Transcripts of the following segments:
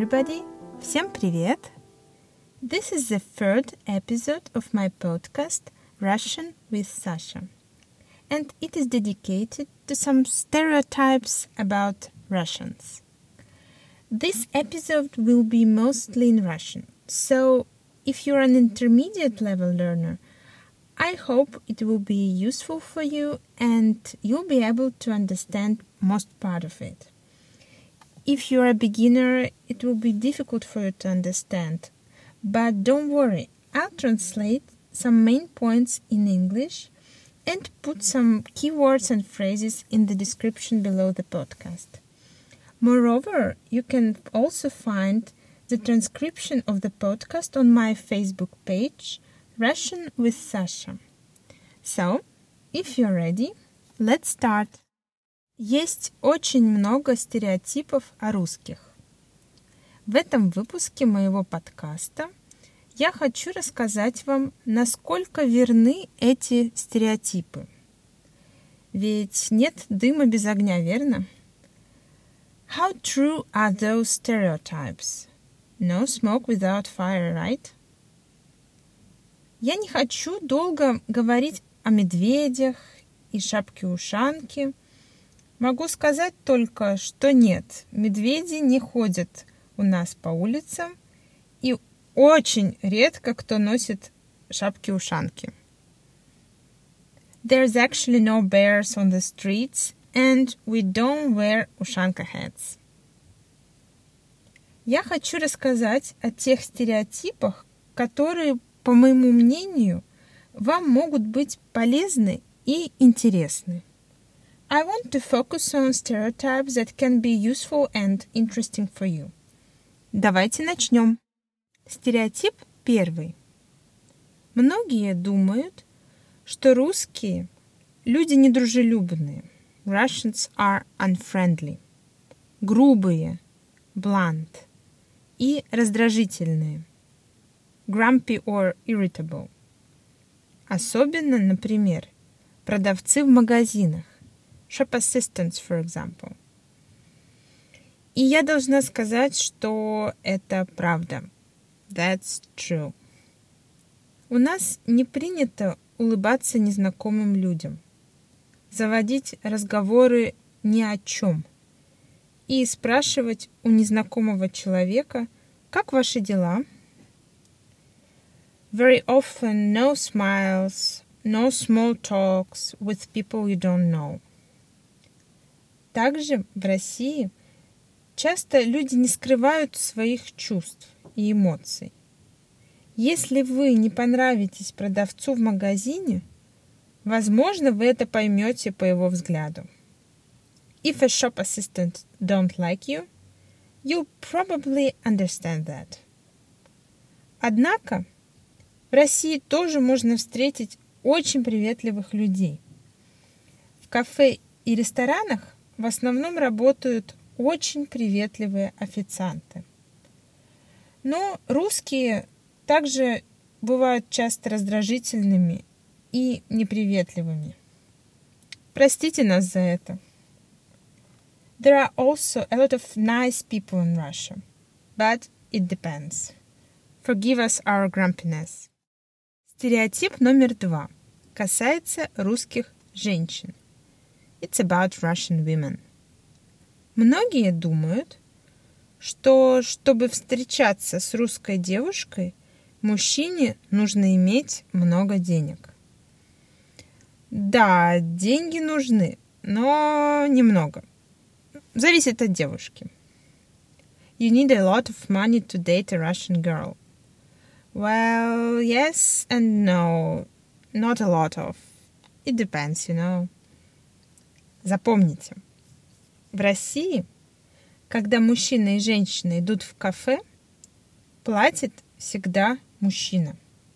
everybody! Всем привет! This is the third episode of my podcast Russian with Sasha. And it is dedicated to some stereotypes about Russians. This episode will be mostly in Russian, so if you're an intermediate level learner, I hope it will be useful for you and you'll be able to understand most part of it. If you're a beginner, it will be difficult for you to understand, but don't worry, I'll translate some main points in English and put some keywords and phrases in the description below the podcast. Moreover, you can also find the transcription of the podcast on my Facebook page, Russian with Sasha. So, if you're ready, let's start. Есть очень много стереотипов о русских. В этом выпуске моего подкаста я хочу рассказать вам, насколько верны эти стереотипы. Ведь нет дыма без огня, верно? How true are those stereotypes? No smoke without fire, right? Я не хочу долго говорить о медведях и шапке-ушанке. Могу сказать только, что нет, медведи не ходят у нас по улицам, и очень редко кто носит шапки-ушанки. There's actually no bears on the streets, and we don't wear ушанка hats. Я хочу рассказать о тех стереотипах, которые, по моему мнению, вам могут быть полезны и интересны. I want to focus on stereotypes that can be useful and interesting for you. Давайте начнем. Стереотип первый. Многие думают, что русские люди недружелюбные. Russians are unfriendly. Грубые, blunt. И раздражительные. Grumpy or irritable. Особенно, например, продавцы в магазинах. Shop assistants, for example. И я должна сказать, что это правда. That's true. У нас не принято улыбаться незнакомым людям, заводить разговоры ни о чем и спрашивать у незнакомого человека, как ваши дела? Very often no smiles, no small talks with people you don't know. Также в России часто люди не скрывают своих чувств и эмоций. Если вы не понравитесь продавцу в магазине, возможно, вы это поймете по его взгляду. If a shop assistant don't like you, you'll probably understand that. Однако в России тоже можно встретить очень приветливых людей. В кафе и ресторанах в основном работают очень приветливые официанты. Но русские также бывают часто раздражительными и неприветливыми. Простите нас за это. There are also a lot of nice people in Russia, but it depends. Forgive us our grumpiness. Стереотип номер 2 касается русских женщин. It's about Russian women. Многие думают, что чтобы встречаться с русской девушкой, мужчине нужно иметь много денег. Да, деньги нужны, но немного. Зависит от девушки. You need a lot of money to date a Russian girl. Well, yes and no. Not a lot of. It depends, you know. Запомните, в России, когда мужчина и женщина идут в кафе, платит всегда мужчина.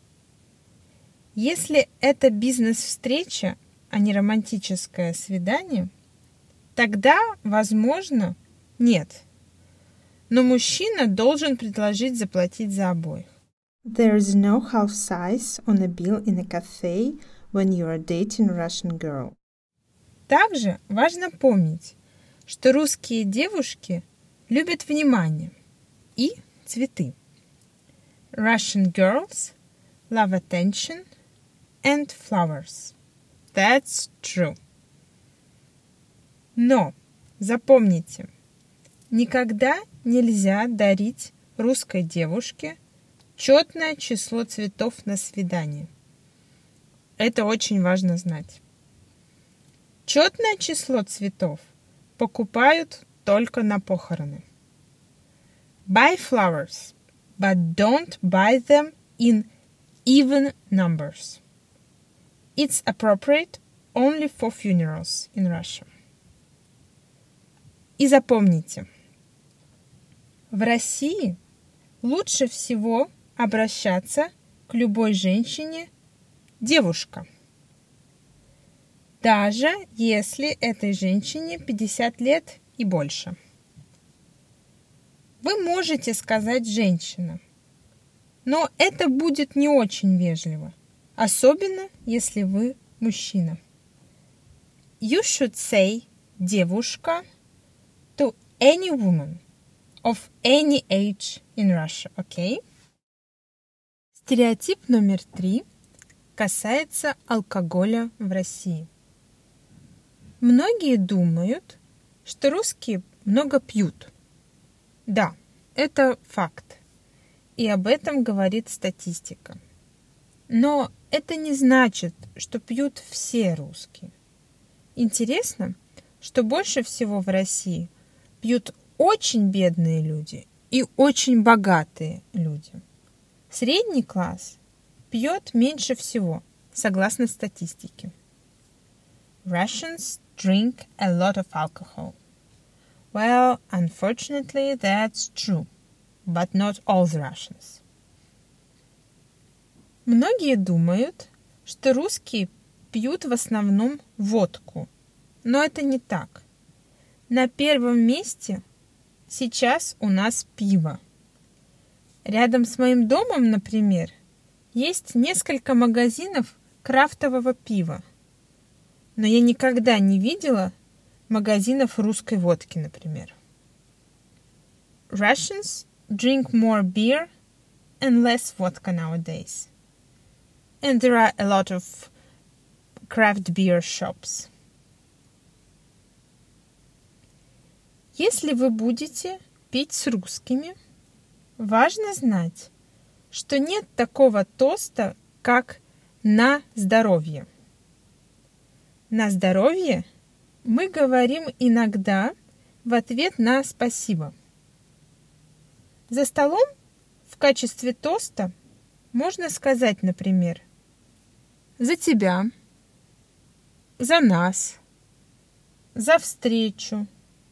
Если это бизнес-встреча, а не романтическое свидание, тогда, возможно, нет. Но мужчина должен предложить заплатить за обоих. There is no half size on a bill in a cafe when you are dating a Russian girl. Также важно помнить, что русские девушки любят внимание. и цветы. Russian girls love attention and flowers. That's true. Но запомните, никогда нельзя дарить русской девушке четное число цветов на свидание. Это очень важно знать. Четное число цветов покупают только на похороны. Buy flowers, but don't buy them in even numbers. It's appropriate only for funerals in Russia. И запомните, в России лучше всего обращаться к любой женщине девушка, даже если этой женщине 50 лет и больше. Вы можете сказать «женщина», но это будет не очень вежливо, особенно если вы мужчина. You should say «девушка» to any woman of any age in Russia, okay? Стереотип номер 3 касается алкоголя в России. Многие думают, что русские много пьют. Да, это факт, и об этом говорит статистика. Но это не значит, что пьют все русские. Интересно, что больше всего в России пьют очень бедные люди и очень богатые люди. Средний класс пьет меньше всего, согласно статистике. Russians drink a lot of alcohol. Well, unfortunately, that's true, but not all the Russians. Многие думают, что русские пьют в основном водку, но это не так. На первом месте сейчас у нас пиво. Рядом с моим домом, например, есть несколько магазинов крафтового пива. Но я никогда не видела магазинов русской водки, например. Russians drink more beer and less vodka nowadays. And there are a lot of craft beer shops. Если вы будете пить с русскими, важно знать, что нет такого тоста, как «на здоровье». «На здоровье» мы говорим иногда в ответ на «спасибо». За столом в качестве тоста можно сказать, например, «За тебя», «За нас», «За встречу»,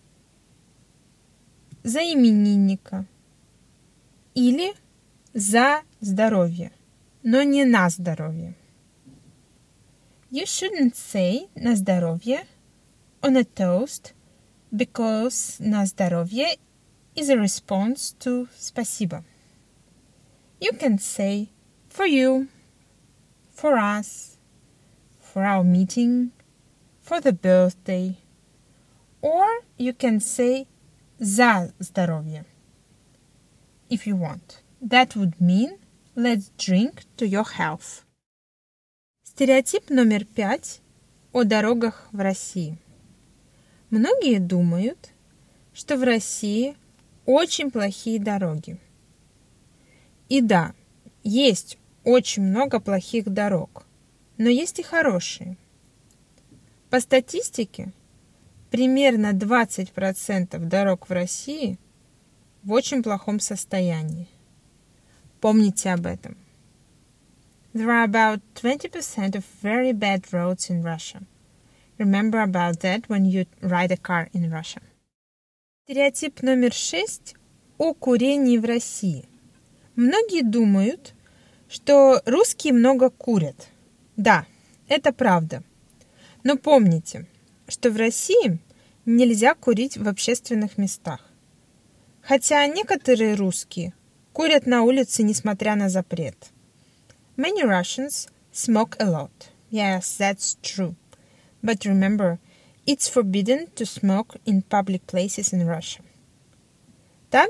«За именинника» или «За здоровье», но не «на здоровье». You shouldn't say «на здоровье» on a toast because «на здоровье» is a response to «спасибо». You can say «for you», «for us», «for our meeting», «for the birthday», or you can say «за здоровье» if you want. That would mean «let's drink to your health». Стереотип номер 5 о дорогах в России. Многие думают, что в России очень плохие дороги. И да, есть очень много плохих дорог, но есть и хорошие. По статистике, примерно 20% дорог в России в очень плохом состоянии. Помните об этом. There are about 20% of very bad roads in Russia. Remember about that when you ride a car in Russia. Стереотип номер 6 о курении в России. Многие думают, что русские много курят. Да, это правда. Но помните, что в России нельзя курить в общественных местах. Хотя некоторые русские курят на улице, несмотря на запрет. Many Russians smoke a lot. Yes, that's true. But remember, it's forbidden to smoke in public places in Russia. Также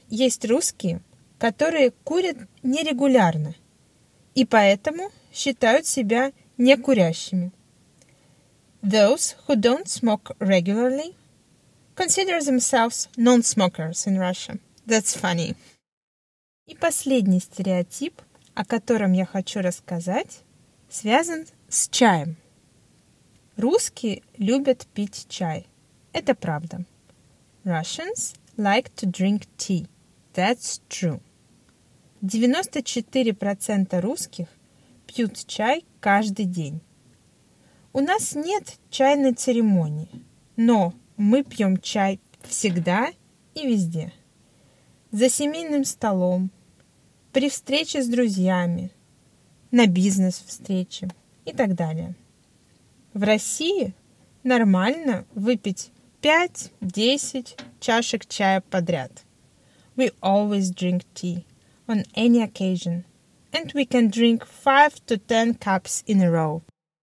есть русские, которые курят нерегулярно и поэтому считают себя некурящими. Those who don't smoke regularly consider themselves non-smokers in Russia. That's funny. И последний стереотип, о котором я хочу рассказать, связан с чаем. Русские любят пить чай. Это правда. Russians like to drink tea. That's true. 94% русских пьют чай каждый день. У нас нет чайной церемонии, но мы пьем чай всегда и везде. За семейным столом, при встрече с друзьями, на бизнес-встрече и так далее. В России нормально выпить 5-10 чашек чая подряд. We always drink tea on any occasion, and we can drink 5 to 10 cups in a row.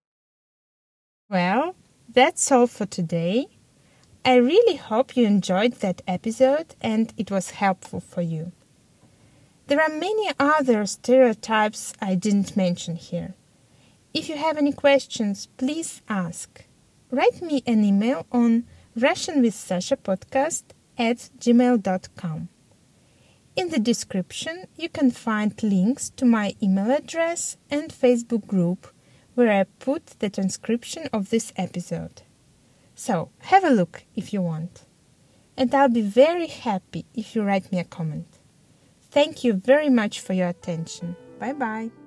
Well, that's all for today. I really hope you enjoyed that episode and it was helpful for you. There are many other stereotypes I didn't mention here. If you have any questions, please ask. Write me an email on russianwithsashapodcast@gmail.com. In the description, you can find links to my email address and Facebook group where I put the transcription of this episode. So, have a look if you want. And I'll be very happy if you write me a comment. Thank you very much for your attention. Bye-bye.